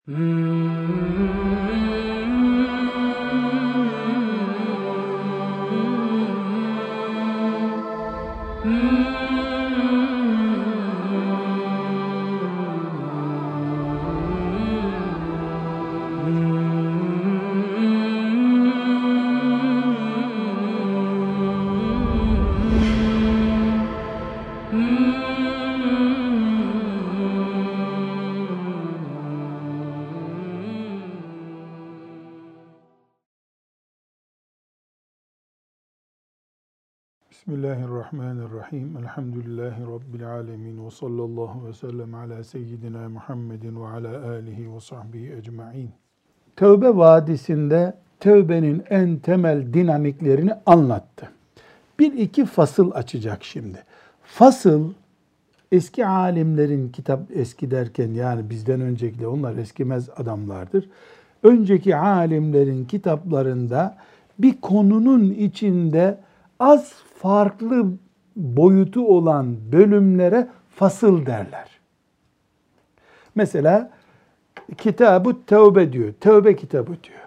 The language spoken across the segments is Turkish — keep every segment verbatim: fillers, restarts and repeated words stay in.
Bismillahirrahmanirrahim. Elhamdülillahi Rabbil alemin. Ve sallallahu ve sellem ala seyyidina Muhammedin ve ala alihi ve sahbihi ecma'in. Tevbe vadisinde tevbenin en temel dinamiklerini anlattı. Bir iki fasıl açacak şimdi. Fasıl, eski alimlerin kitap eski derken yani bizden önceki onlar eskimez adamlardır. Önceki alimlerin kitaplarında bir konunun içinde az farklı boyutu olan bölümlere fasıl derler. Mesela Kitab-ı Tevbe diyor, Tevbe kitabı diyor.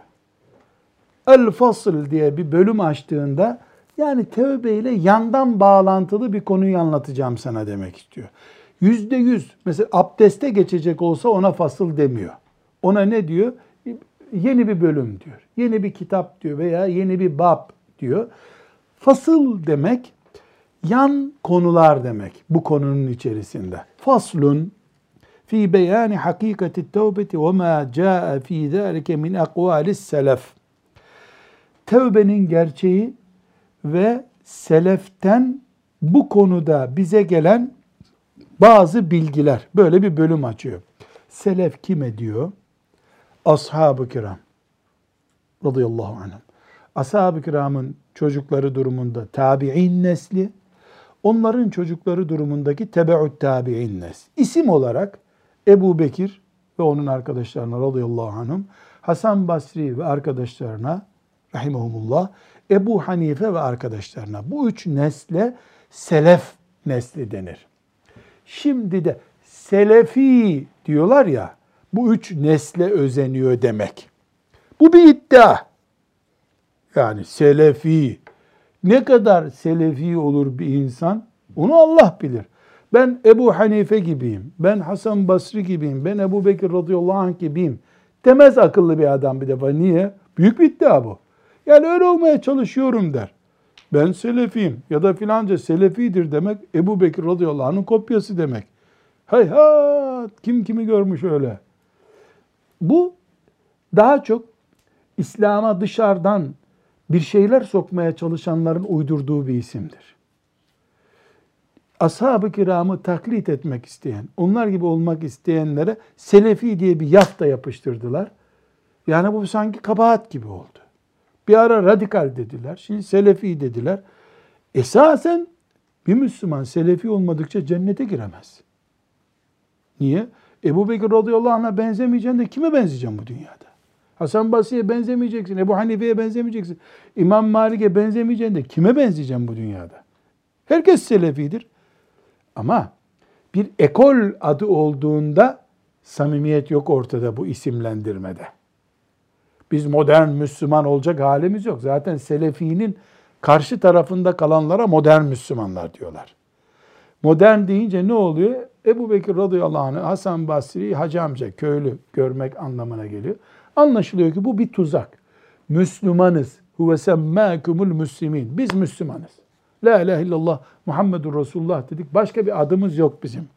El-Fasıl diye bir bölüm açtığında yani tevbe ile yandan bağlantılı bir konuyu anlatacağım sana demek istiyor. Yüzde yüz mesela abdeste geçecek olsa ona fasıl demiyor. Ona ne diyor? Yeni bir bölüm diyor, yeni bir kitap diyor veya yeni bir bab diyor. Fasıl demek, yan konular demek bu konunun içerisinde. Faslun fi beyani hakikati tevbeti ve ma caa fi zalike min akvalis selef. Tevbenin gerçeği ve seleften bu konuda bize gelen bazı bilgiler. Böyle bir bölüm açıyor. Selef kime diyor? Ashab-ı kiram radıyallahu anhum. Ashab-ı kiramın çocukları durumunda tabi'in nesli, onların çocukları durumundaki tebe'ut tabi'in nesli. İsim olarak Ebu Bekir ve onun arkadaşlarına radıyallahu anhum, Hasan Basri ve arkadaşlarına rahimahumullah, Ebu Hanife ve arkadaşlarına, bu üç nesle selef nesli denir. Şimdi de selefi diyorlar ya, bu üç nesle özeniyor demek. Bu bir iddia. Yani selefi, ne kadar selefi olur bir insan, onu Allah bilir. Ben Ebu Hanife gibiyim, ben Hasan Basri gibiyim, ben Ebu Bekir radıyallahu anh gibiyim demez akıllı bir adam bir defa. Niye? Büyük bir iddia bu. Yani öyle olmaya çalışıyorum der. Ben selefiyim ya da filanca selefidir demek, Ebu Bekir radıyallahu anh'ın kopyası demek. Hay ha, kim kimi görmüş öyle. Bu daha çok İslam'a dışarıdan bir şeyler sokmaya çalışanların uydurduğu bir isimdir. Ashab-ı kiramı taklit etmek isteyen, onlar gibi olmak isteyenlere selefi diye bir yafta yapıştırdılar. Yani bu sanki kabahat gibi oldu. Bir ara radikal dediler, şimdi selefi dediler. Esasen bir Müslüman selefi olmadıkça cennete giremez. Niye? Ebu Bekir radıyallahu anh'a benzemeyeceksin de kime benzeyeceksin bu dünyada? Hasan Basri'ye benzemeyeceksin, Ebu Hanife'ye benzemeyeceksin, İmam Malik'e benzemeyeceksin de kime benzeyeceksin bu dünyada? Herkes selefidir. Ama bir ekol adı olduğunda samimiyet yok ortada bu isimlendirmede. Biz modern Müslüman olacak halimiz yok. Zaten selefinin karşı tarafında kalanlara modern Müslümanlar diyorlar. Modern deyince ne oluyor? Ebu Bekir radıyallahu anh, Hasan Basri, hacı amca, köylü görmek anlamına geliyor. Anlaşılıyor ki bu bir tuzak. Müslümanız. Huve semmâkumul müslimin. Biz Müslümanız. La ilahe illallah Muhammedur Resulullah dedik. Başka bir adımız yok bizim.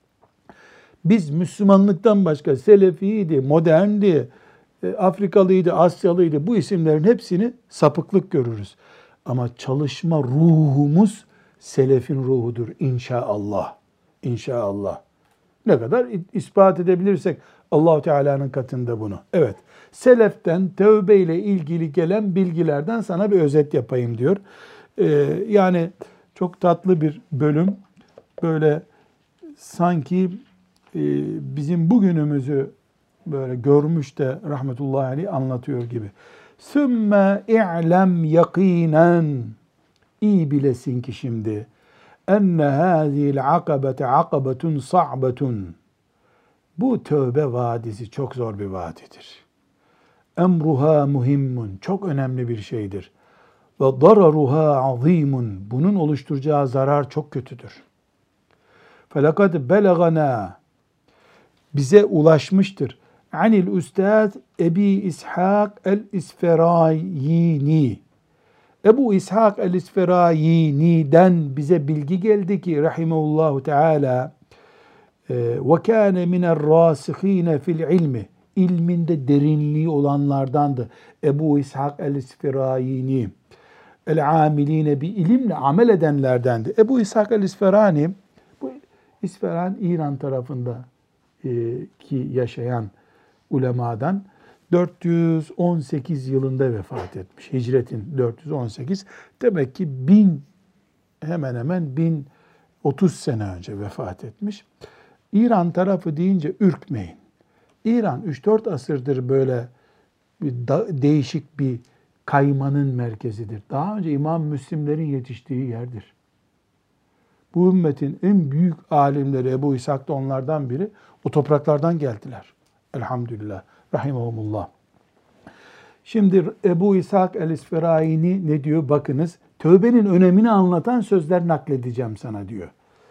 Biz Müslümanlıktan başka selefiydi, moderndi, Afrikalıydı, Asyalıydı. Bu isimlerin hepsini sapıklık görürüz. Ama çalışma ruhumuz selefin ruhudur inşallah. İnşallah. Ne kadar ispat edebilirsek Allah-u Teala'nın katında bunu. Evet. Seleften tevbe ile ilgili gelen bilgilerden sana bir özet yapayım diyor. Ee, yani çok tatlı bir bölüm. Böyle sanki e, bizim bugünümüzü böyle görmüş de rahmetullahi aleyh anlatıyor gibi. Sümme i'lem yakinen, iyi bilesin ki şimdi enne hâzîl akabete akabetun sa'betun, Bu tövbe vadisi çok zor bir vadidir. Emruha muhimmun, çok önemli bir şeydir. Ve dararuha azimun, bunun oluşturacağı zarar çok kötüdür. Felakad belagana, bize ulaşmıştır. Anil Üstad Ebi İshak el-İsferayini. Ebu İshak el-İsferayini'den bize bilgi geldi ki rahimehullahu teala ve kâne mine'r-râsihîne fil ilmi, ilminde derinliği olanlardandı. Ebu İshak el-İsferayini el-âmilîne bi ilimle amel edenlerdendi. Ebu İshak el-İsferani, bu İsfahan İran tarafında ki yaşayan ulemadan dört yüz on sekiz yılında vefat etmiş. Hicretin dört yüz on sekiz. Demek ki bin, hemen hemen bin otuz sene önce vefat etmiş. İran tarafı deyince ürkmeyin. İran üç dört asırdır böyle bir da, değişik bir kaymanın merkezidir. Daha önce İmam Müslimlerin yetiştiği yerdir. Bu ümmetin en büyük alimleri Ebu İshak da onlardan biri. O topraklardan geldiler. Elhamdülillah. Rahimahumullah. Şimdi Ebu İshak el-İsferayini ne diyor? Bakınız. Tövbenin önemini anlatan sözler nakledeceğim sana diyor.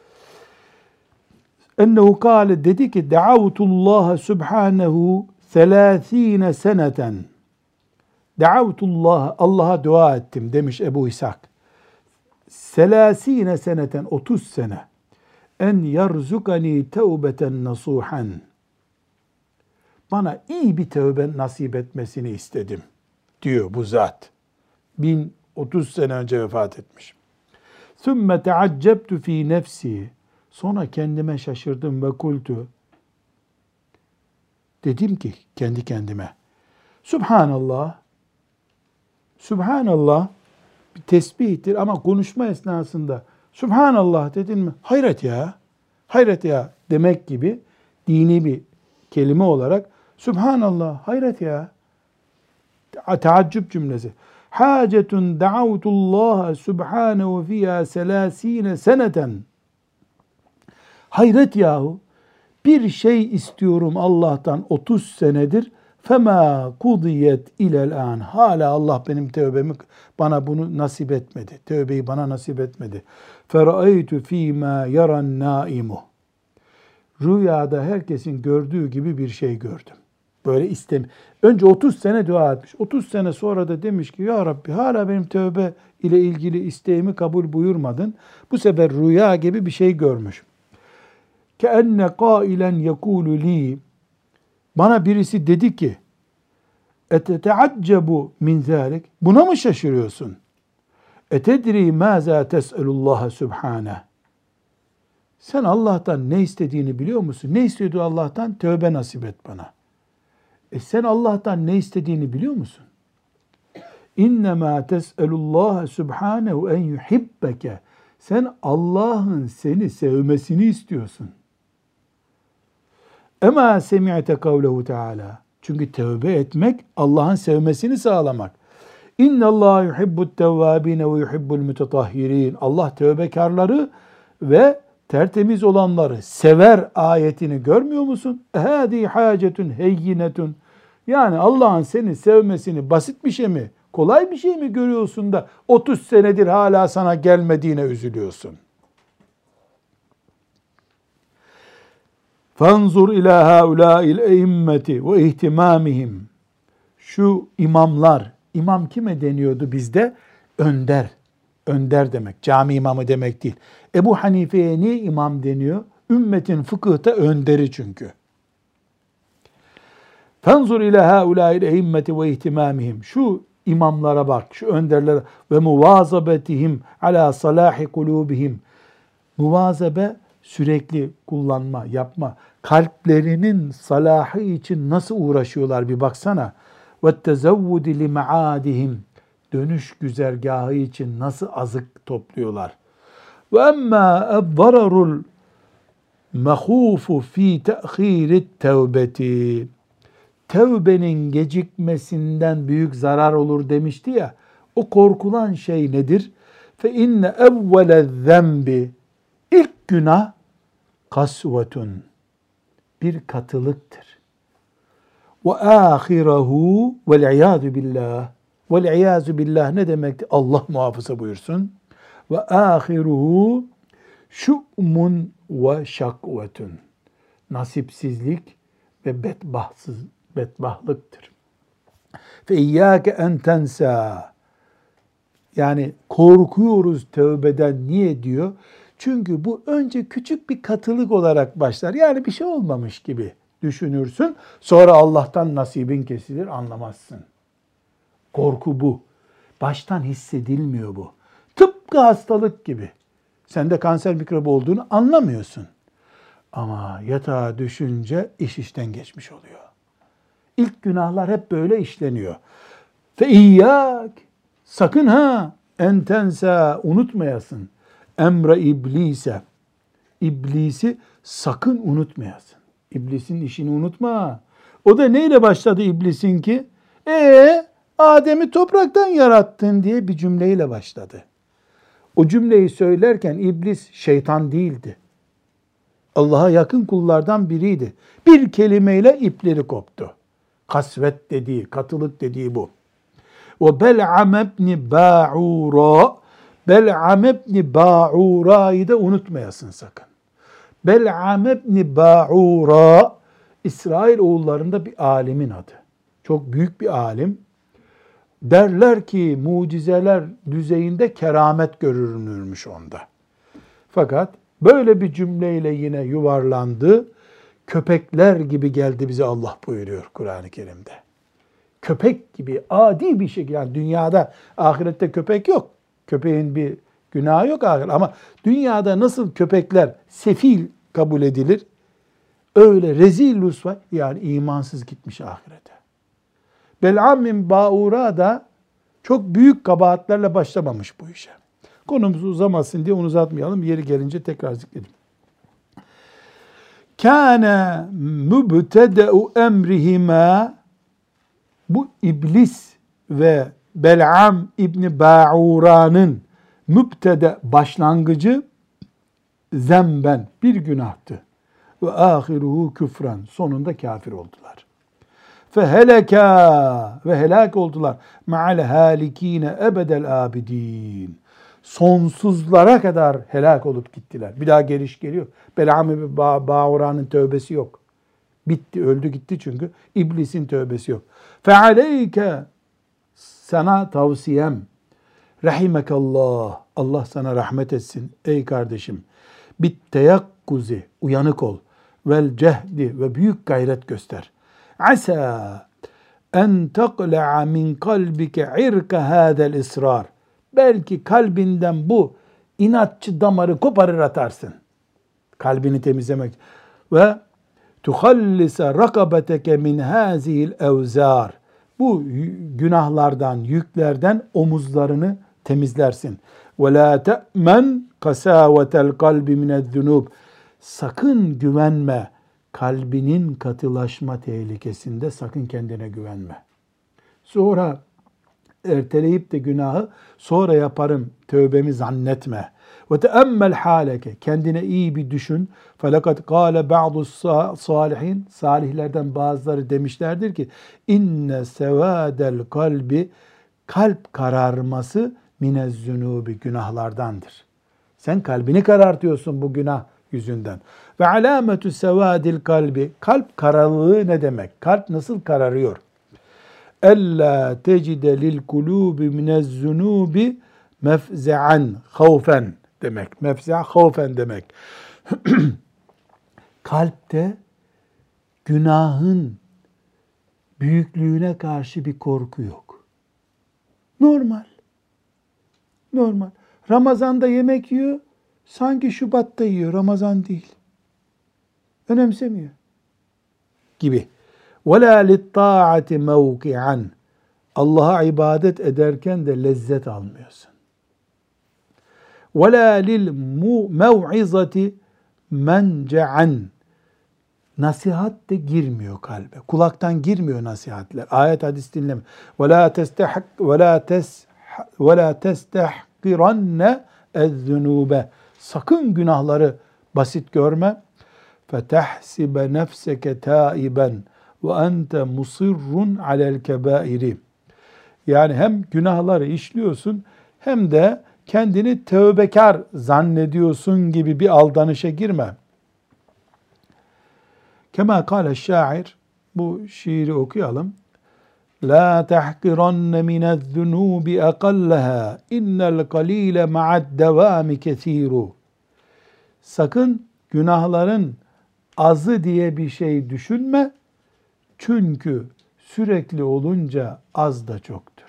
Ennehu kâle, dedi ki Da'avtullaha subhanehu selâthîne seneten. Da'avtullaha, Allah'a dua ettim demiş Ebu İshak. Selâsîne seneten, otuz sene. En yarzukani tevbeten nasuhan. Bana iyi bir tövbe nasip etmesini istedim diyor bu zat. bin otuz sene önce vefat etmiş. Sümme teaccebtu fi nefsi. Sonra kendime şaşırdım ve kultu. Dedim ki kendi kendime. Subhanallah. Subhanallah bir tesbihtir ama konuşma esnasında Subhanallah dedin mi? Hayret ya. Hayret ya demek gibi dini bir kelime olarak Subhanallah, hayret ya. Teaccüp cümlesi. Hacetun da'avtullaha subhanehu fiyâ selâsîne seneten. Hayret yahu. Bir şey istiyorum Allah'tan otuz senedir. Fema kudiyet ilel an. Hala Allah benim tövbemi, bana bunu nasip etmedi. Tövbeyi bana nasip etmedi. Fera'eytu fîmâ yaran nâimu. Rüyada herkesin gördüğü gibi bir şey gördüm. Böyle istem. Önce otuz sene dua etmiş. otuz sene sonra da demiş ki ya Rabbi hala benim tövbe ile ilgili isteğimi kabul buyurmadın. Bu sefer rüya gibi bir şey görmüş. Keenne qailen yekulu li. Bana birisi dedi ki eteteaccebu min zalik. Buna mı şaşırıyorsun? Etedri maza tes'elullaha subhane. Sen Allah'tan ne istediğini biliyor musun? Ne istiyordu Allah'tan? Tövbe nasip et bana. E sen Allah'tan ne istediğini biliyor musun? İnnemâ tes'elullâhe subhânehu en yuhibbeke. Sen Allah'ın seni sevmesini istiyorsun. Emâ semi'te kavlehu teâlâ. Çünkü tövbe etmek Allah'ın sevmesini sağlamak. İnnallâhe yuhibbut tevvâbîne ve yuhibbul mütetahhirîn. Allah tövbekarları ve tertemiz olanları sever ayetini görmüyor musun? Hâdî hâcetun heyyinetun. Yani Allah'ın seni sevmesini basit bir şey mi, kolay bir şey mi görüyorsun da otuz senedir hala sana gelmediğine üzülüyorsun? Fanzur ilâ hâulâil eimmeti ve ihtimâmihim. Şu imamlar, imam kime deniyordu bizde? Önder. Önder demek, cami imamı demek değil. Ebu Hanife'ye niye imam deniyor? Ümmetin fıkıhta önderi çünkü. Fenzur ila haulâil eimmeti ve ihtimâmihim. Şu imamlara bak, şu önderlere ve muvazabetihim ala salahi kulubihim. Muvazabe sürekli kullanma, yapma. Kalplerinin salahı için nasıl uğraşıyorlar bir baksana. Ve tezevvudi li maadihim. Dönüş güzergahı için nasıl azık topluyorlar. Ve emmâ ezzararul mehûfu fî te'khîrit tevbeti. Tevbenin gecikmesinden büyük zarar olur demişti ya. O korkulan şey nedir? Fe inne evvele zembi. İlk günah kasvetun. bir katılıktır. Ve ahirehu vel iyadu billah. Vel iyazu billah ne demekti? Allah muhafaza buyursun. Ve ahiruhu şu'mun ve şakvetun. Nasipsizlik ve bedbahtsız, bedbahtlıktır. Fe iyyâke en tensa. Yani korkuyoruz tövbeden. Niye diyor? Çünkü bu önce küçük bir katılık olarak başlar. Yani bir şey olmamış gibi düşünürsün. Sonra Allah'tan nasibin kesilir, anlamazsın. Korku bu. Baştan hissedilmiyor bu. Tıpkı hastalık gibi. Sende kanser mikrobu olduğunu anlamıyorsun. Ama yatağa düşünce iş işten geçmiş oluyor. İlk günahlar hep böyle işleniyor. Fe iyyak, sakın ha, entensa, unutmayasın. Emre iblise, iblisi sakın unutmayasın. İblisin işini unutma. O da neyle başladı iblisin ki? Ee, Adem'i topraktan yarattın diye bir cümleyle başladı. O cümleyi söylerken iblis şeytan değildi. Allah'a yakın kullardan biriydi. Bir kelimeyle ipleri koptu. Kasvet dediği, katılık dediği bu. Ve Bel'am ibn Ba'ura, Bel'am ibn Ba'ura'yı da unutmayasın sakın. Bel'am ibn Ba'ura, İsrail oğullarında bir alimin adı. Çok büyük bir alim. Derler ki mucizeler düzeyinde keramet görünürmüş onda. Fakat böyle bir cümleyle yine yuvarlandı. Köpekler gibi geldi bize Allah buyuruyor Kur'an-ı Kerim'de. Köpek gibi adi bir şekilde, yani dünyada, ahirette köpek yok. Köpeğin bir günahı yok ahirette. Ama dünyada nasıl köpekler sefil kabul edilir? Öyle rezil rüsva, yani imansız gitmiş ahirete. Bel'am bin Ba'ura da çok büyük kabahatlerle başlamamış bu işe. Konumuz uzamasın diye onu uzatmayalım. Yeri gelince tekrar zikredim. Kâne mübtede'u emrihima, bu iblis ve Bel'am İbni Ba'ura'nın mübtede başlangıcı zemben, bir günahtı. Ve ahiruhu küfran, sonunda kafir oldular. Feheleka, ve helak oldular. Ma'al halikine ebedel abidin. Sonsuzlara kadar helak olup gittiler. Bir daha geliş geliyor. Bel'am ibn Ba'ura'nın tövbesi yok. Bitti, öldü gitti çünkü. İblisin tövbesi yok. Fealeyke, sana tavsiyem, rahimekallah, Allah sana rahmet etsin ey kardeşim. Bit teyakkuzi, uyanık ol. Vel cehdi, ve büyük gayret göster. Asa en teqla'a min kalbike irka hadel israr. Belki kalbinden bu inatçı damarı koparır atarsın. Kalbini temizlemek. Ve tuhallisa rakabeteke min hazihil evzar. Bu günahlardan, yüklerden omuzlarını temizlersin. Ve la te'men kasavetel kalbi minezzunub. Sakın güvenme. Kalbinin katılaşma tehlikesinde sakın kendine güvenme. Sonra erteleyip de günahı sonra yaparım tövbemi zannetme. Ve teemmel haleke, kendine iyi bir düşün. Felakat kâle ba'du salihin, salihlerden bazıları demişlerdir ki inne sevâdel kalbi, kalp kararması minezzünubi, günahlardandır. Sen kalbini karartıyorsun bu günah yüzünden. Ve alametü sevâdil kalbi, kalp kararlığı ne demek? Kalp nasıl kararıyor? Ella tecide lil kulubi minezzunubi mefze'an havfen demek. Mefze'a havfen demek. Kalpte günahın büyüklüğüne karşı bir korku yok. Normal. Normal. Ramazan'da yemek yiyor, sanki Şubat'ta yiyor, Ramazan değil. Önemsemiyor. Gibi. وَلَا لِلطَّاعَةِ مَوْقِعًا. Allah'a ibadet ederken de lezzet almıyorsun. وَلَا لِلْمَوْعِظَةِ مَنْجَعًا. Nasihat de girmiyor kalbe. Kulaktan girmiyor nasihatler. Ayet hadis dinleme. وَلَا تَسْتَحْقِ وَلَا تَسْ وَلَا تَسْتَحْقِرَنَّ الذُّنُوبَ. Sakın günahları basit görme. فَتَحْسِبَ نَفْسَكَ تَائِبًا وَاَنْتَ مُصِرٌّ عَلَى الْكَبَائِرِ. Yani hem günahları işliyorsun hem de kendini tövbekar zannediyorsun gibi bir aldanışa girme. Kema kâle şair, bu şiiri okuyalım. La tahkiranne mine'z-zunubi aqallaha innel qalile ma'ad-devami kesiru. Sakın günahların azı diye bir şey düşünme. Çünkü sürekli olunca az da çoktur.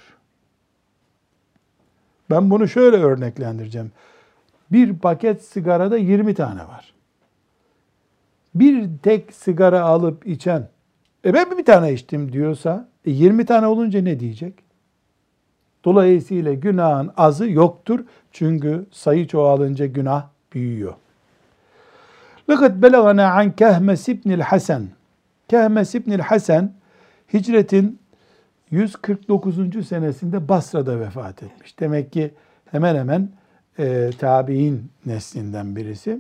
Ben bunu şöyle örneklendireceğim. Bir paket sigarada yirmi tane var. Bir tek sigara alıp içen, e ben bir tane içtim diyorsa, e yirmi tane olunca ne diyecek? Dolayısıyla günahın azı yoktur. Çünkü sayı çoğalınca günah büyüyor. لَقَدْ بَلَغَنَا عَنْ كَهْمَسِ ibnil Hasan. Kehmes ibnil Hasan, hicretin yüz kırk dokuzuncu senesinde Basra'da vefat etmiş. Demek ki hemen hemen e, tabi'in neslinden birisi.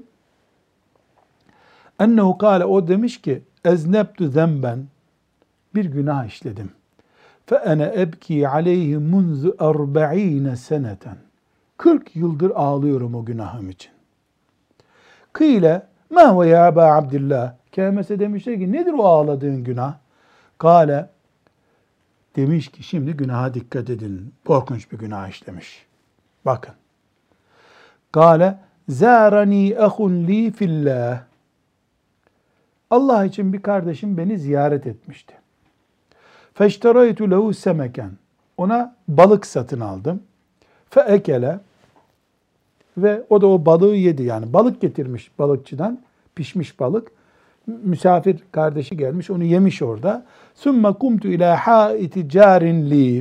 Ennehu kâle, o demiş ki, eznebtu zemben, bir günah işledim. Fe ene ebki aleyhi munzu erba'ine seneten. kırk yıldır ağlıyorum o günahım için. Kıyle, ma huve ya Eba Abdillah. Kehmes'e demişler ki, nedir o ağladığın günah? Kâle, demiş ki, şimdi günaha dikkat edin. Korkunç bir günah işlemiş. Bakın. Kâle, zârani ehun li fillah. Allah için bir kardeşim beni ziyaret etmişti. Feşteraytu lehu semeken. Ona balık satın aldım. Fe ekele. Ve o da o balığı yedi. Yani balık getirmiş balıkçıdan. Pişmiş balık. Misafir kardeşi gelmiş. Onu yemiş orada. Sümme kumtu ila haiti carin li.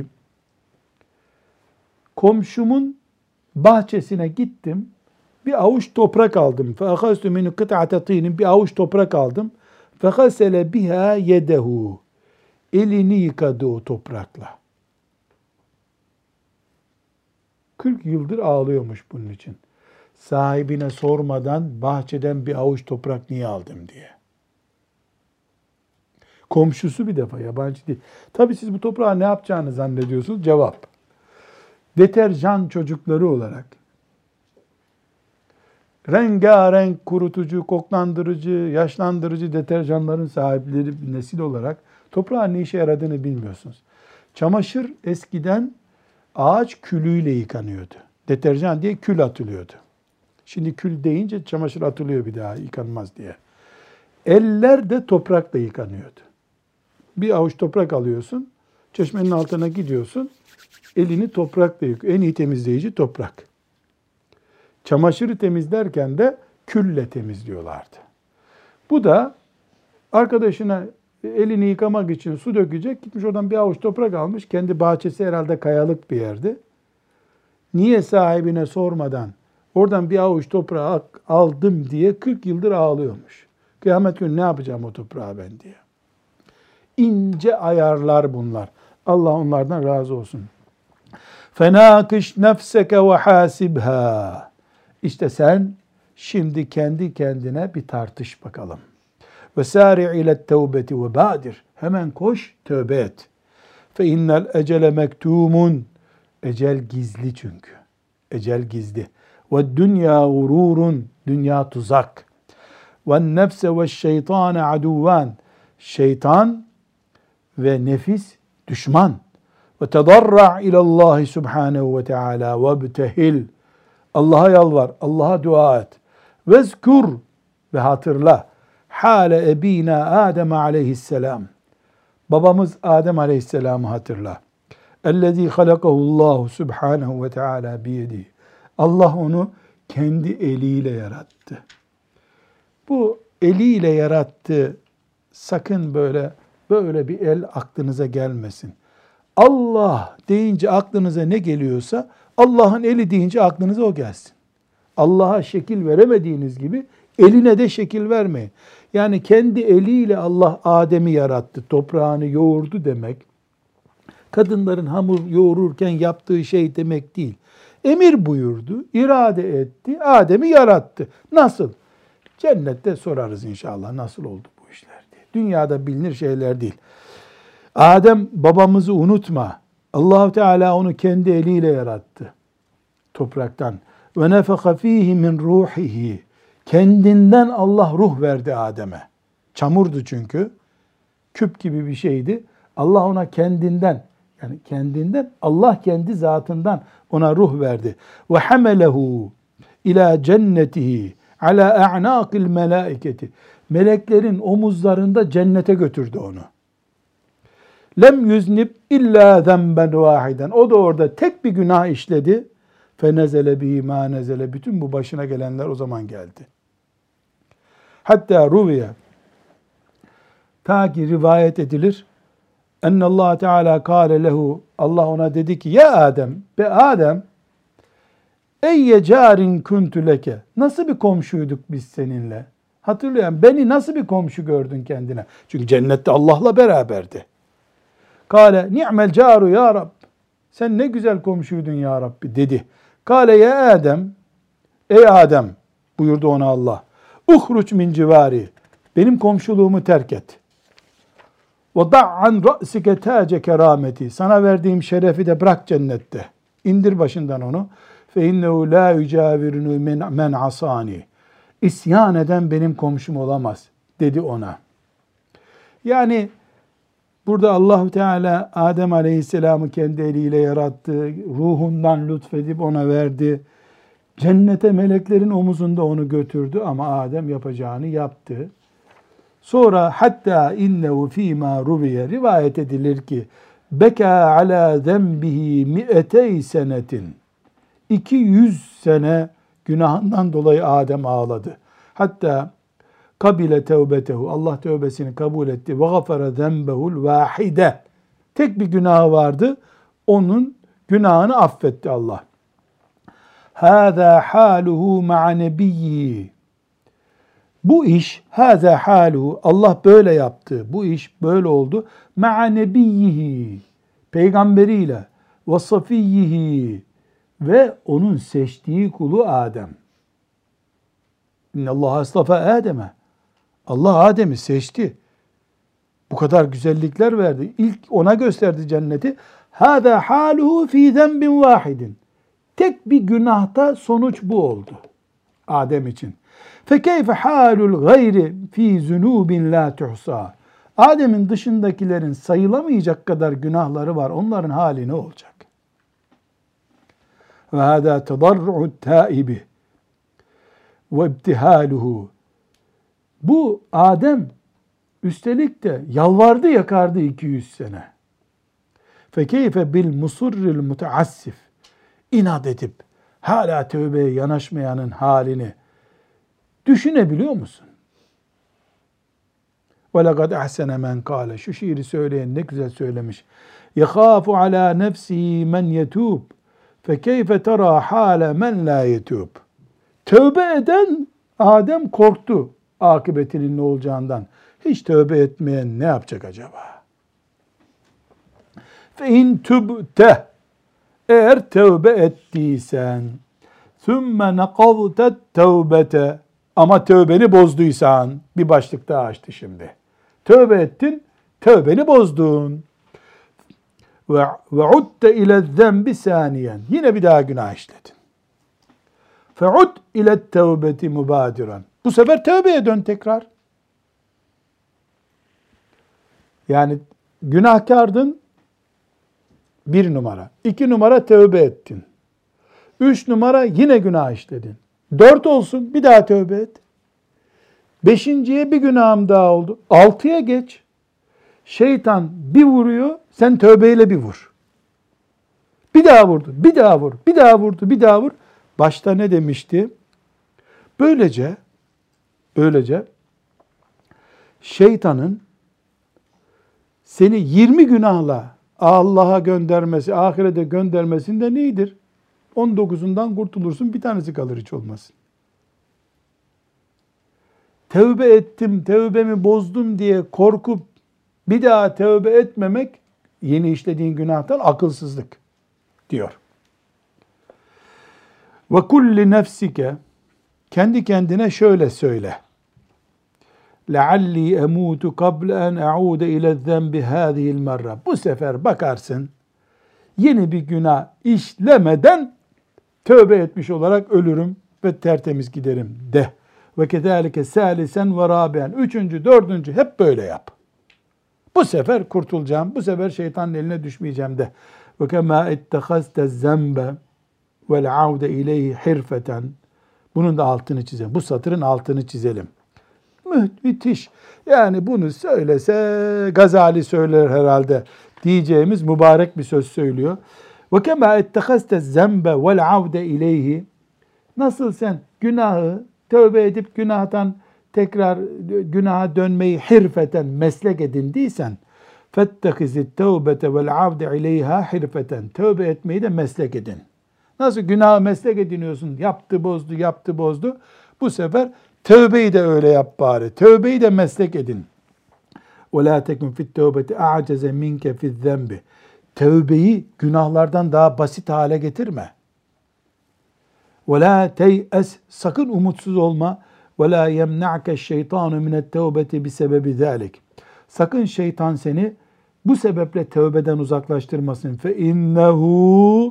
Komşumun bahçesine gittim. Bir avuç toprak aldım. فَاَخَذْتُ مِنُ قِطْعَةَ طِينٍ. Bir avuç toprak aldım. فَغَسَلَ بِهَا يَدَهُ. Elini yıkadı o toprakla. kırk yıldır ağlıyormuş bunun için. Sahibine sormadan bahçeden bir avuç toprak niye aldım diye. Komşusu bir defa, yabancı değil. Tabii siz bu toprağı ne yapacağını zannediyorsunuz? Cevap. Deterjan çocukları olarak rengarenk kurutucu, koklandırıcı, yaşlandırıcı deterjanların sahipleri bir nesil olarak toprağın ne işe yaradığını bilmiyorsunuz. Çamaşır eskiden ağaç külüyle yıkanıyordu. Deterjan diye kül atılıyordu. Şimdi kül deyince çamaşır atılıyor bir daha yıkanmaz diye. Eller de toprakla yıkanıyordu. Bir avuç toprak alıyorsun, çeşmenin altına gidiyorsun, elini toprakla yıkıyor. En iyi temizleyici toprak. Çamaşırı temizlerken de külle temizliyorlardı. Bu da arkadaşına elini yıkamak için su dökecek. Gitmiş oradan bir avuç toprak almış. Kendi bahçesi herhalde kayalık bir yerde. Niye sahibine sormadan oradan bir avuç toprağı aldım diye kırk yıldır ağlıyormuş. Kıyamet günü ne yapacağım o toprağı ben diye. İnce ayarlar bunlar. Allah onlardan razı olsun. فَنَاقِشْ نَفْسَكَ وَحَاسِبْهَا. İşte sen şimdi kendi kendine bir tartış bakalım. وَسَارِعْ اِلَى التَّوْبَةِ وَبَادِرْ. Hemen koş, tövbe et. فَاِنَّ الْاَجَلَ مَكْتُومٌ. Ecel gizli çünkü. Ecel gizli. وَالدُّنْيَا غُرُورٌ. Dünya tuzak. وَالنَّفْسَ وَالشَّيْطَانَ عَدُوَّانِ. Şeytan ve nefis düşman. وَتَضَرَّعْ اِلَى اللّٰهِ سُبْحَانَهُ وَتَعَالَى وَابْتَهِلْ. Allah'a yalvar, Allah'a dua et. Vezkur ve hatırla. Hale ebina Adem aleyhisselam. Babamız Adem aleyhisselamı hatırla. Ellezî halakahullahu subhanahu ve teâlâ biyedihi. Allah onu kendi eliyle yarattı. Bu eliyle yarattı. Sakın böyle böyle bir el aklınıza gelmesin. Allah deyince aklınıza ne geliyorsa Allah'ın eli deyince aklınıza o gelsin. Allah'a şekil veremediğiniz gibi eline de şekil vermeyin. Yani kendi eliyle Allah Adem'i yarattı, toprağını yoğurdu demek, kadınların hamur yoğururken yaptığı şey demek değil. Emir buyurdu, irade etti, Adem'i yarattı. Nasıl? Cennette sorarız inşallah nasıl oldu bu işler diye. Dünyada bilinir şeyler değil. Adem babamızı unutma. Allah-u Teala onu kendi eliyle yarattı. Topraktan. Ve nefeka fihi min ruhihi. Kendinden Allah ruh verdi Adem'e. Çamurdu çünkü. Küp gibi bir şeydi. Allah ona kendinden, yani kendinden, Allah kendi zatından ona ruh verdi. Ve hamelehu ila cennetihi ala a'naqil melaiketi. Meleklerin omuzlarında cennete götürdü onu. Lem yüznib illa zemben vahiden. O da orada tek bir günah işledi. Fenezele bihi ma nezele. Bütün bu başına gelenler o zaman geldi. Hatta ruviye, ta ki rivayet edilir. Ennallahu Teala kâle lehu. Allah ona dedi ki, ya Adem, be Adem, eyye carin kuntu leke. Nasıl bir komşuyduk biz seninle? Hatırlayan, beni nasıl bir komşu gördün kendine? Çünkü cennette Allah'la beraberdi. Kâle ni'mel caru ya Rab. Sen ne güzel komşuydun ya Rabbi dedi. Kâle ya Adem, ey Adem buyurdu ona Allah. Uhruç min civari. Benim komşuluğumu terk et. Ve da'an ra'sike tace kerameti. Sana verdiğim şerefi de bırak cennette. İndir başından onu. Fe innehu la yucavirunu men asani. İsyan eden benim komşum olamaz dedi ona. Yani burada Allah Teala Adem Aleyhisselam'ı kendi eliyle yarattı. Ruhundan lütfedip ona verdi. Cennete meleklerin omuzunda onu götürdü ama Adem yapacağını yaptı. Sonra hatta innehu fîmâ ruviye rivayet edilir ki beka ala zenbihi mi'etey senetin. iki yüz sene günahından dolayı Adem ağladı. Hatta kabile tevbetehu. Allah tövbesini kabul etti. Ve gafara zenbehul vahide. Tek bir günahı vardı. Onun günahını affetti Allah. Hâzâ hâluhu ma'a nebiyyi. Bu iş, hâzâ hâluhu, Allah böyle yaptı. Bu iş böyle oldu. Ma'a nebiyyihi. Peygamberiyle. Ve safiyyihi. Ve onun seçtiği kulu Adem. İnnallâhe astafa Adem'e. Allah Adem'i seçti. Bu kadar güzellikler verdi. İlk ona gösterdi cenneti. Hâzâ hâluhu fî zenbin vâhidin. Tek bir günahta sonuç bu oldu Adem için. Fekeyfe halul gayri fi zunubin la tuhsa. Adem'in dışındakilerin sayılamayacak kadar günahları var. Onların hali ne olacak? Ve hâdâ tedarru'ut tâibi ve ibtihaluhu. Bu Adem üstelik de yalvardı yakardı iki yüz sene. Fekeyfe bil musurril mutaassif. İnat edip hala tövbeye yanaşmayanın halini düşünebiliyor musun? وَلَقَدْ اَحْسَنَ مَنْ قَالَ. Şu şiiri söyleyen ne güzel söylemiş. يَخَافُ عَلَى نَفْسِهِ مَنْ يَتُوبُ فَكَيْفَ تَرَى حَالَ مَنْ لَا يَتُوبُ. Tövbe eden Adem korktu akıbetinin ne olacağından. Hiç tövbe etmeyen ne yapacak acaba? فَاِنْ تُبْتَهِ. Eğer tövbe ettiysen, ثُمَّ نَقَضْتَ التَّوْبَةَ. Ama tövbeni bozduysan, bir başlık daha açtı şimdi. Tövbe ettin, tövbeni bozdun. Ve udte ile zembi saniyen. Yine bir daha günah işledin. Feud ile tevbeti mubadiran. Bu sefer tövbeye dön tekrar. Yani günahkardın, bir numara. İki numara tövbe ettin. Üç numara yine günah işledin. Dört olsun, bir daha tövbe et. Beşinciye bir günahım daha oldu. Altıya geç. Şeytan bir vuruyor, sen tövbeyle bir vur. Bir daha vurdu, bir daha vur, bir daha vurdu, bir daha vur. Başta ne demişti? Böylece, böylece şeytanın seni yirmi günahla Allah'a göndermesi, ahirete göndermesinde nedir? on dokuzundan kurtulursun, bir tanesi kalır hiç olmasın. Tevbe ettim, tevbemi bozdum diye korkup bir daha tevbe etmemek, yeni işlediğin günahtan akılsızlık diyor. Ve kulli nefsike, kendi kendine şöyle söyle. لَعَلِّي اَمُوتُ قَبْلَ اَنْ اَعُودَ اِلَى الذَّنْبِ هَذِهِ الْمَرَّةِ Bu sefer bakarsın, yeni bir günah işlemeden tövbe etmiş olarak ölürüm ve tertemiz giderim de. Ve kezalike salisen ve rabi'en. Üçüncü, dördüncü hep böyle yap. Bu sefer kurtulacağım. Bu sefer şeytanın eline düşmeyeceğim de. Ve kema ittehazte zembe vel aude ileyhi hirfeten. Bunun da altını çizelim. Bu satırın altını çizelim. Müthiş. Yani bunu söylese Gazali söyler herhalde diyeceğimiz mübarek bir söz söylüyor. Ve kema ittehazte zembe vel aude ileyhi. Nasıl sen günahı tövbe edip günahtan tekrar günaha dönmeyi hirfeten meslek edindiysen fettehizit tevbete vel avde ileyha hirfeten. Tövbe etmeyi de meslek edin. Nasıl günahı meslek ediniyorsun? Yaptı bozdu, yaptı bozdu. Bu sefer tövbeyi de öyle yap bari. Tövbeyi de meslek edin. وَلَا تَكُنْ فِي التَّوْبَةِ أَعْجَزَ مِنْكَ فِي الذَّنْبِ Tövbeyi günahlardan daha basit hale getirme. وَلَا تَيْأَسْ Sakın umutsuz olma. وَلَا يَمْنَعْكَ الشَّيْطَانُ مِنَ التَّوْبَةِ بِسَبَبِ ذَٰلِكِ Sakın şeytan seni bu sebeple tövbeden uzaklaştırmasın. فَاِنَّهُ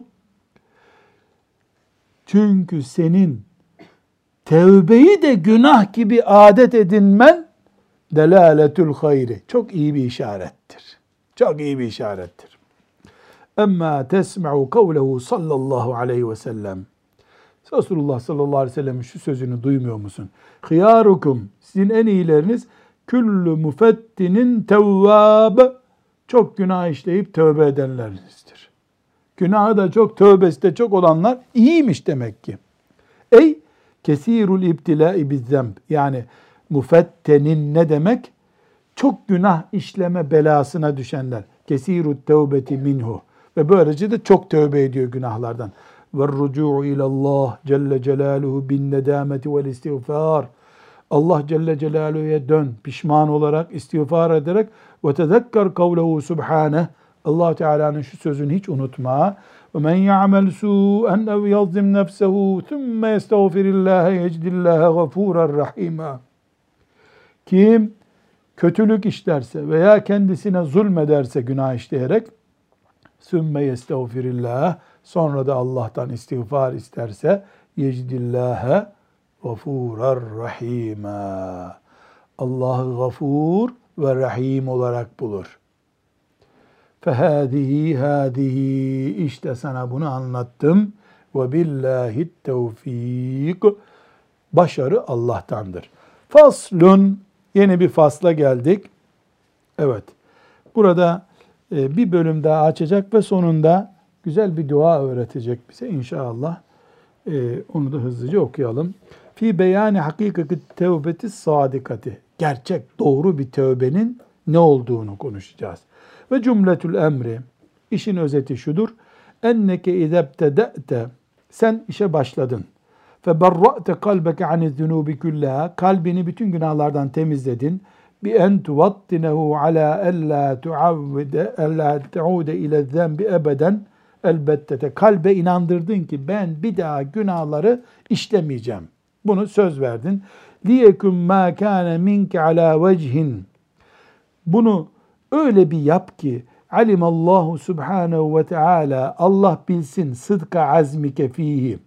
Çünkü senin tevbeyi de günah gibi adet edinmen delâletül hayri. Çok iyi bir işarettir. Çok iyi bir işarettir. Emma tesma'u kavlehu sallallahu aleyhi ve sellem. Resulullah sallallahu aleyhi ve sellem'in şu sözünü duymuyor musun? Hıyarukum, sizin en iyileriniz küllü müfettinin tevvâb. Çok günah işleyip tövbe edenlerinizdir. Günahı da çok, tövbesi de çok olanlar iyiymiş demek ki. Ey kesirul ibtilâi bizzemb. Yani müfettenin ne demek? Çok günah işleme belasına düşenler. Kesirut tevbeti minhu. Ve böylece de çok tövbe ediyor günahlardan. وَالرُّجُوعُ اِلَى اللّٰهِ Celle Celaluhu بِالنَّدَامَةِ وَالْاِسْتِغْفَارِ Allah Celle Celaluhu'ya dön, pişman olarak, istiğfar ederek وَتَذَكَّرْ قَوْلَهُ سُبْحَانَهُ Allah Teala'nın şu sözünü hiç unutma. وَمَنْ يَعْمَلْ سُوءًا اَوْ يَظْلِمْ نَفْسَهُ ثُمَّ يَسْتَغْفِرِ اللّٰهَ يَجْدِ اللّٰهَ غَفُورًا رَحِيمًا Kim kötülük işlerse veya kendisine zulmederse günah işleyerek ثُمَّ يَسْتَغْفِرِ اللّٰهَ Sonra da Allah'tan istiğfar isterse yecdillâhe gafûrar rahîmâ. Allah'ı gafur ve rahim olarak bulur. Fehâzihi hâzihi işte sana bunu anlattım. Ve billâhi tevfîk. Başarı Allah'tandır. Faslun yeni bir fasla geldik. Evet. Burada bir bölüm daha açacak ve sonunda güzel bir dua öğretecek bize inşallah. Ee, onu da hızlıca okuyalım. Fi beyani hakikati tevbeti sadikati. Gerçek, doğru bir tövbenin ne olduğunu konuşacağız. Ve cümletül emri. İşin özeti şudur. Enneke izebtede'te. Sen işe başladın. Fe berra'te kalbeke aniz-zunubi kullaha. Kalbini bütün günahlardan temizledin. Bi en tuvattinehu ala alla tuavvide alla taude ile zenbi ebeden. Elbette kalbe inandırdın ki ben bir daha günahları işlemeyeceğim. Bunu söz verdin. Liyekun ma kana minke ala vecihin. Bunu öyle bir yap ki alimallahu subhanahu ve teala Allah bilsin sıdka azmike fihi.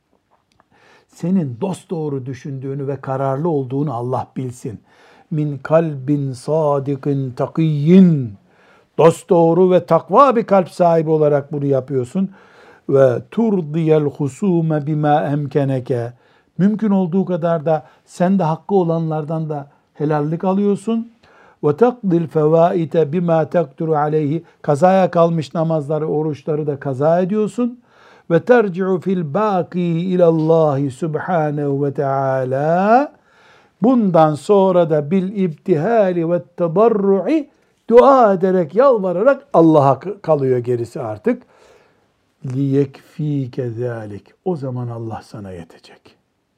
Senin dosdoğru düşündüğünü ve kararlı olduğunu Allah bilsin. Min kalbin sadikin takiyyin. Dosdoğru ve takva bir kalp sahibi olarak bunu yapıyorsun. Ve turdiyel husume bima emkeneke. Mümkün olduğu kadar da sen de hakkı olanlardan da helallik alıyorsun. Ve takdil fevaite bima takduru aleyhi. Kazaya kalmış namazları, oruçları da kaza ediyorsun. Ve terci'u fil baki ilallahi subhanehu ve teala. Bundan sonra da bil ibtihali ve tedarru'i dua ederek, yalvararak Allah'a kalıyor gerisi artık. Liyekfike zalik. O zaman Allah sana yetecek.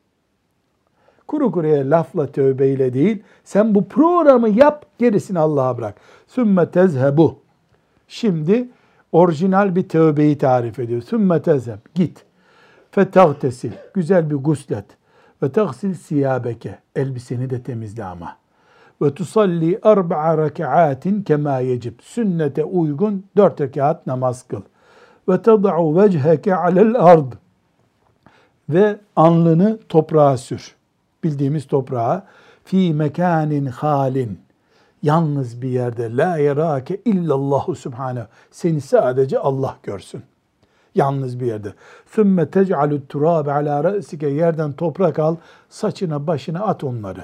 Kuru kuruya lafla tövbeyle değil, sen bu programı yap, gerisini Allah'a bırak. Sümme tezhebu. Şimdi orijinal bir tövbeyi tarif ediyor. Sümme tezheb. Git. Fetagtesil. Güzel bir guslet. Ve tagsil siyabeke. Elbiseni de temizle ama. ve tusalli arba'a rekaatin kema yecib. Sünnete uygun dört rekat namaz kıl. Ve tad'u vecheke alel ard. Ve alnını toprağa sür. Bildiğimiz toprağa. Fi mekanin halin. Yalnız bir yerde. La yerake illallahu subhanehu. Seni sadece Allah görsün. Yalnız bir yerde. Sümme tec'alü turabe ala re'sike. Yerden toprak al. Saçına başına at onları.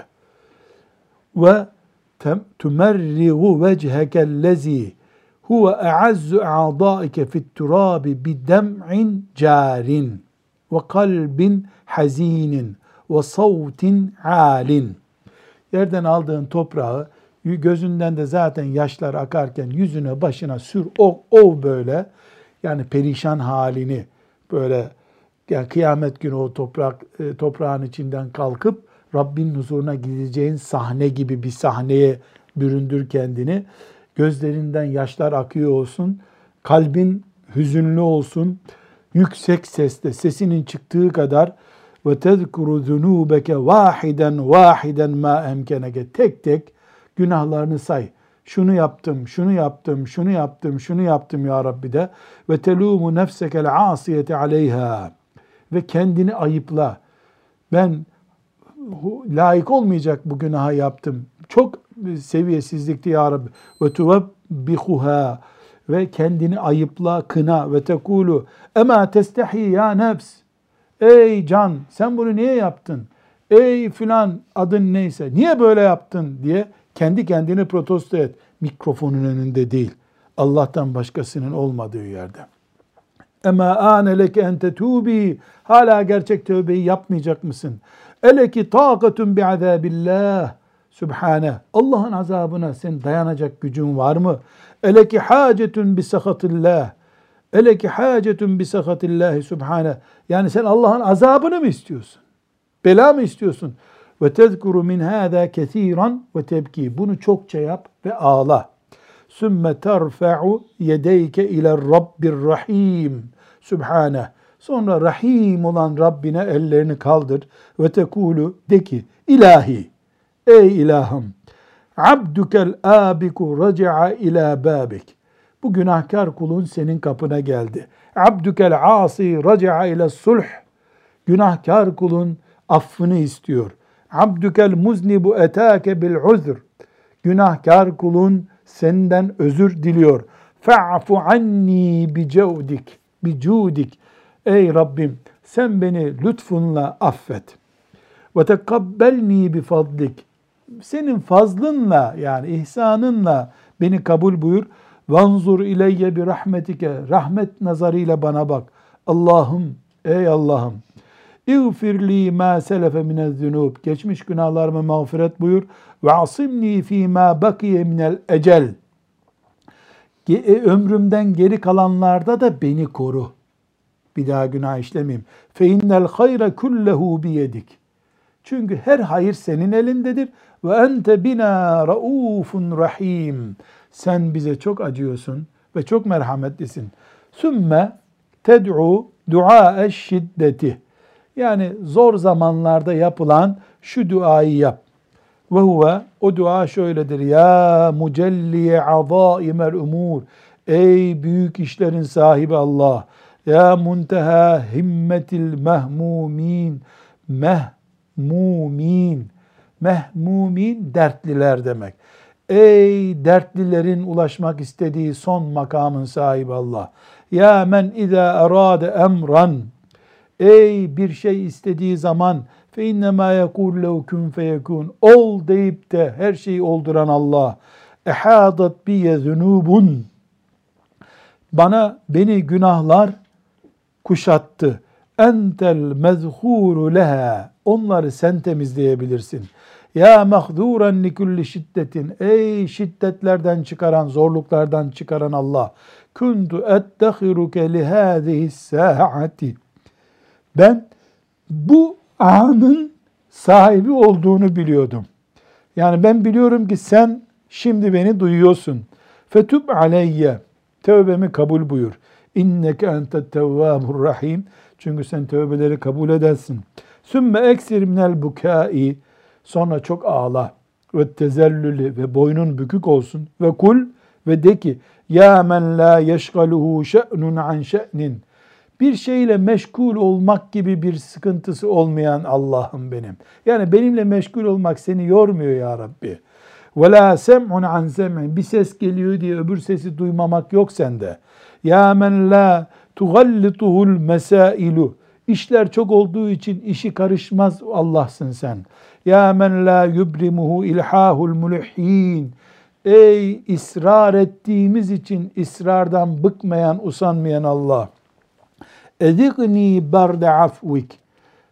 Ve tumerrigu vechekellezi huve e'azzu a'daike fit turabi bidem'in carin ve kalbin hazinin ve savtin alin. Yerden aldığın toprağı gözünden de zaten yaşlar akarken yüzüne başına sür, ov, ov böyle. Yani perişan halini böyle, yani kıyamet günü o toprak e, toprağın içinden kalkıp Rabbin huzuruna gideceğin sahne gibi bir sahneye büründür kendini. Gözlerinden yaşlar akıyor olsun, kalbin hüzünlü olsun, yüksek sesle sesinin çıktığı kadar ve tezkuru zunubeke vahiden vahiden ma emkeneke, tek tek günahlarını say. Şunu yaptım, şunu yaptım, şunu yaptım, şunu yaptım ya Rabbi de. Ve telumu nefsekel asiyete aleyha. Ve kendini ayıpla. Ben layık olmayacak bu günaha yaptım. Çok seviyesizlikti ya Rabbi. Ve tuvebbihuha. Ve kendini ayıpla, kına. Ve tekulu ema testehi ya nefs. Ey can, sen bunu niye yaptın? Ey filan, adın neyse, niye böyle yaptın diye kendi kendini protesto et. Mikrofonun önünde değil. Allah'tan başkasının olmadığı yerde. Ema âne leke en tetûbî. Hala gerçek tövbeyi yapmayacak mısın? Eleki tâkatun bi'azâbillâh. Sübhane. Allah'ın azabına sen dayanacak gücün var mı? Eleki hâcetun bisakhatillâh. Eleki hâcetun bisakhatillâhi sübhane. Yani sen Allah'ın azabını mı istiyorsun? Bela mı istiyorsun? Ve tezkuru min hâzâ kesîran ve tebkî. Bunu çokça yap ve ağla. Sümme terfe'u yedeyke ile Rabbir Rahim. Sübhane. Sonra Rahim olan Rabbine ellerini kaldır ve tekulu, de ki, İlahi, ey ilahım, abdukel abiku raci'a ila babik. Bu günahkar kulun senin kapına geldi. Abdukel asi raci'a ila sulh. Günahkar kulun affını istiyor. Abdukel muznibu etâke bil uzr. Günahkar kulun senden özür diliyor. Fa'fu anni bi cevdik, bi cudik. Ey Rabbim, sen beni lütfunla affet. Ve tekabbelni bi fadlik. Senin fazlınla, yani ihsanınla beni kabul buyur. Vanzur ileyye bi rahmetike. Rahmet nazarıyla bana bak. Allah'ım, ey Allah'ım. İğfirli ma selefe minez-zunub. Geçmiş günahlarımı mağfiret buyur. Ve asimni fî mâ bakiye minel ecel. Ömrümden geri kalanlarda da beni koru. Bir daha günah işlemeyeyim. Fe innel hayre kullehu biyedik. Çünkü her hayır senin elindedir. Ve ente bina raufun rahim. Sen bize çok acıyorsun ve çok merhametlisin. Sümme ted'u du'a şiddeti. Yani zor zamanlarda yapılan şu duayı yap. Ve huve, o dua şöyledir. Ya mucelliye azaimel umur. Ey büyük işlerin sahibi Allah. Ya munteha himmetil mehmumin. Mehmumin. Mehmumin dertliler demek. Ey dertlilerin ulaşmak istediği son makamın sahibi Allah. Ya men izâ erâde emran. Ey bir şey istediği zaman fe innemâ yekûl lev kün feyekûn. Ol deyip de her şeyi olduran Allah. Ehâdat biye zunûbun. Bana, beni günahlar kuşattı. Entel mezhûru leha. Onları sen temizleyebilirsin. Ya mahduran li kulli şiddetin. Ey şiddetlerden çıkaran, zorluklardan çıkaran Allah. Kuntu ettehiruke li hâzihi sâati. Ben bu anın sahibi olduğunu biliyordum. Yani ben biliyorum ki sen şimdi beni duyuyorsun. Fetub aleyye. Tövbemi kabul buyur. İnneke entet tevvâbur rahim. Çünkü sen tövbeleri kabul edersin. Sümme eksir minel bukâi. Sonra çok ağla. ve tezellülü ve boynun bükük olsun. Ve kul ve de ki ya men la yeşgaluhu şe'nun an şe'nin. Bir şeyle meşgul olmak gibi bir sıkıntısı olmayan Allah'ım benim. Yani benimle meşgul olmak seni yormuyor ya Rabbi. Ve la sem'un an sem'in. Bir ses geliyor diye öbür sesi duymamak yok sende. Ya men la tugallituhul mesailu. İşler çok olduğu için işi karışmaz Allah'sın sen. Ya men la yubrimuhu ilhahul mulhin. Ey ısrar ettiğimiz için ısrardan bıkmayan, usanmayan Allah. Edigni berde afvik.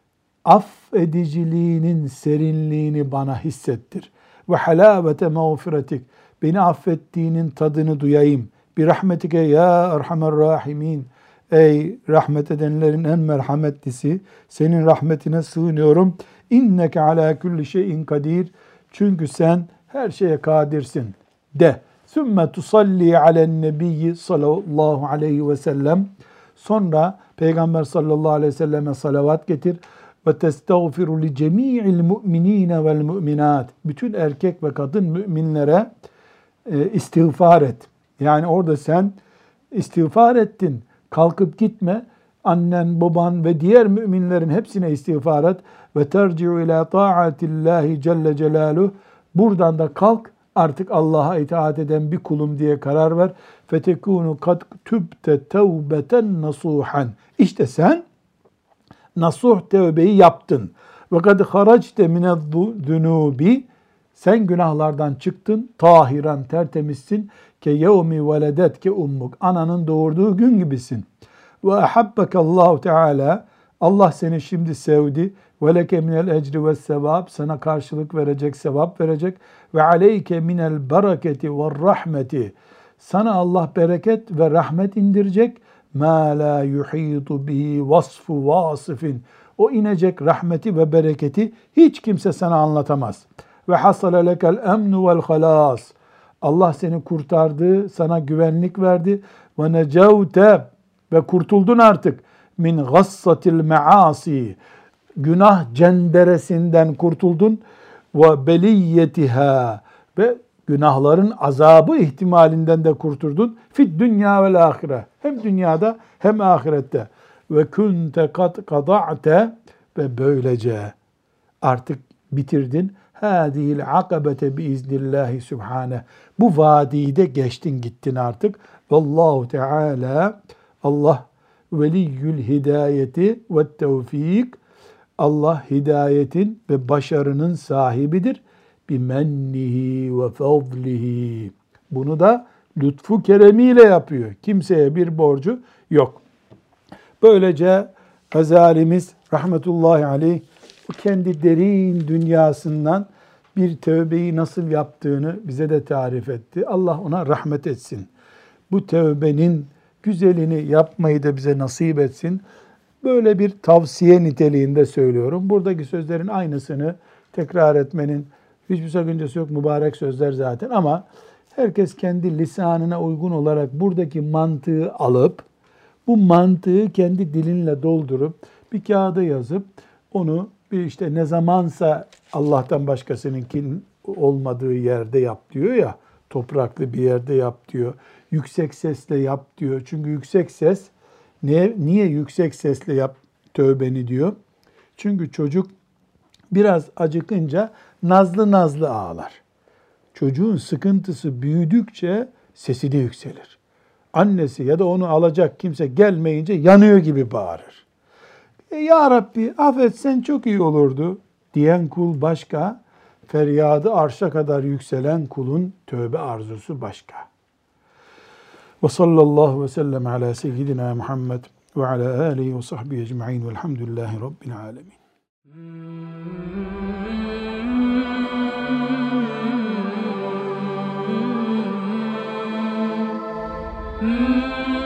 Affediciliğinin serinliğini bana hissettir. Ve halavete mağfiretik. Beni affettiğinin tadını duyayım. Bir rahmetike ya erhamer rahimin. Ey rahmet edenlerin en merhametlisi, senin rahmetine sığınıyorum. İnneke ala kulli şeyin kadir. Çünkü sen her şeye kadirsin de. Sümme tusalli alen nebiyyi sallallahu aleyhi ve sellem. Sonra Peygamber sallallahu aleyhi ve selleme salavat getir. Ve testağfiru li cemi'il mu'minine vel mu'minat. Bütün erkek ve kadın müminlere e, istiğfar et. Yani orada sen istiğfar ettin. Kalkıp gitme. Annen, baban ve diğer müminlerin hepsine istiğfar et. Ve terci'u ila ta'atillahi celle celaluhu. Buradan da kalk, artık Allah'a itaat eden bir kulum diye karar ver. Fetekunu kad tübte tevbeten nasuhan. İşte sen nasuh tevbeyi yaptın. Ve kad haracte mineddunubi. Sen günahlardan çıktın, tahiran, tertemizsin. Ke yevmi veledetke ummuk. Ananın doğurduğu gün gibisin. Ve ahabbekallahu teala. Allah seni şimdi sevdi. Ve leke minel ecri ve sevap. Sana karşılık verecek, sevap verecek. Ve aleyke minel bereketi ve rahmeti. Sana Allah bereket ve rahmet indirecek. Ma la yuhitu bihi vasfu vasifin. O inecek rahmeti ve bereketi hiç kimse sana anlatamaz. Ve hasale lekel emnu vel halas. Allah seni kurtardı, sana güvenlik verdi. Ve necevte ve kurtuldun artık. Min gassatil measi. Günah cenderesinden kurtuldun. Ve beliyetiha. Ve günahların azabı ihtimalinden de kurtuldun. Fid dünya vel ahire. Hem dünyada hem ahirette. Ve kunte kad kada'te. Ve böylece artık bitirdin. Hâzihil akabete biiznillahi subhane. Bu vadiyi de geçtin gittin artık. Vallahu Teala Allah veliyyül hidayeti ve tevfik. Allah hidayetin ve başarının sahibidir. Bimennihi ve fadlihi. Bunu da lütfu keremiyle yapıyor. Kimseye bir borcu yok. Böylece Gazalimiz rahmetullahi aleyh bu kendi derin dünyasından bir tövbeyi nasıl yaptığını bize de tarif etti. Allah ona rahmet etsin. Bu tövbenin güzelini yapmayı da bize nasip etsin. Böyle bir tavsiye niteliğinde söylüyorum. Buradaki sözlerin aynısını tekrar etmenin hiçbir sakıncası yok. Mübarek sözler zaten ama herkes kendi lisanına uygun olarak buradaki mantığı alıp bu mantığı kendi dilinle doldurup bir kağıda yazıp onu bir işte ne zamansa Allah'tan başkasınınkin olmadığı yerde yap diyor ya, topraklı bir yerde yap diyor. Yüksek sesle yap diyor. Çünkü yüksek ses, niye, niye yüksek sesle yap tövbeni diyor? Çünkü çocuk biraz acıkınca nazlı nazlı ağlar. Çocuğun sıkıntısı büyüdükçe sesi de yükselir. Annesi ya da onu alacak kimse gelmeyince yanıyor gibi bağırır. E, ya Rabbi affetsen çok iyi olurdu diyen kul başka, feryadı arşa kadar yükselen kulun tövbe arzusu başka. Ve sallallahu ve sellem ala seyyidina Muhammed ve ala alihi ve sahbihi ecma'in velhamdülillahi rabbil alemin. Mm-hmm.